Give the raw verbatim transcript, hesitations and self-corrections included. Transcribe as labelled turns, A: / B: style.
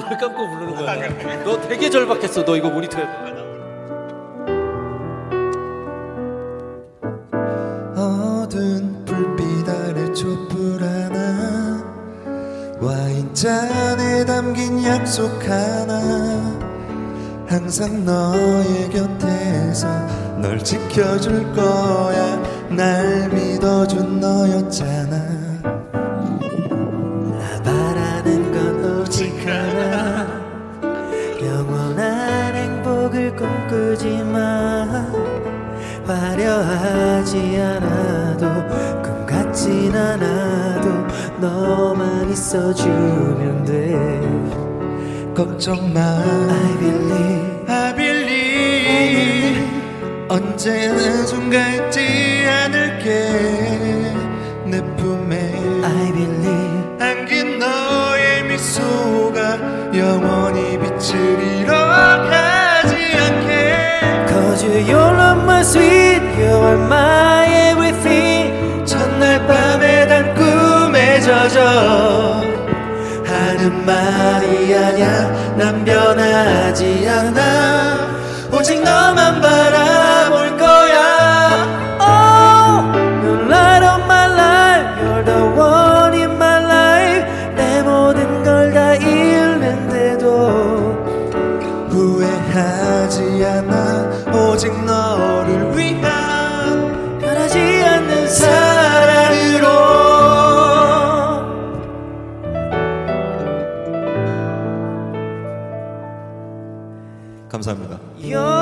A: 눈을 감고 부르는 거야. 너 되게 절박했어. 너 이거 모니터에.
B: 어두운 불빛 아래 촛불 하나, 와인잔에 담긴 약속 하나, 항상 너의 곁에서 널 지켜줄 거야. 날 믿어준 너였잖아.
C: 나 바라는 건 오직 하나, 영원한 행복을 꿈꾸지만 화려하지 않아도 꿈 같진 않아도 너만 있어주면 돼.
B: 걱정 마,
C: I believe,
B: I believe. 언제나 손가 있지 않을게. 내 품에
C: I believe,
B: 안긴 너의 미소가 영원히 빛을 잃어가지 않게.
C: Cause you love my sweet, you are my everything.
B: 첫날 밤에 단 꿈에 젖어 하는 말이 아냐. 난 변하지 않아. 오직 너만 바라볼 거야.
C: Oh, you're light of my life, you're the one in my life. 내 모든 걸 다 잃는데도
B: 후회하지 않아. 오직 너를 위한
C: 변하지 않는
B: 사랑으로. 감사합니다.
C: 사랑.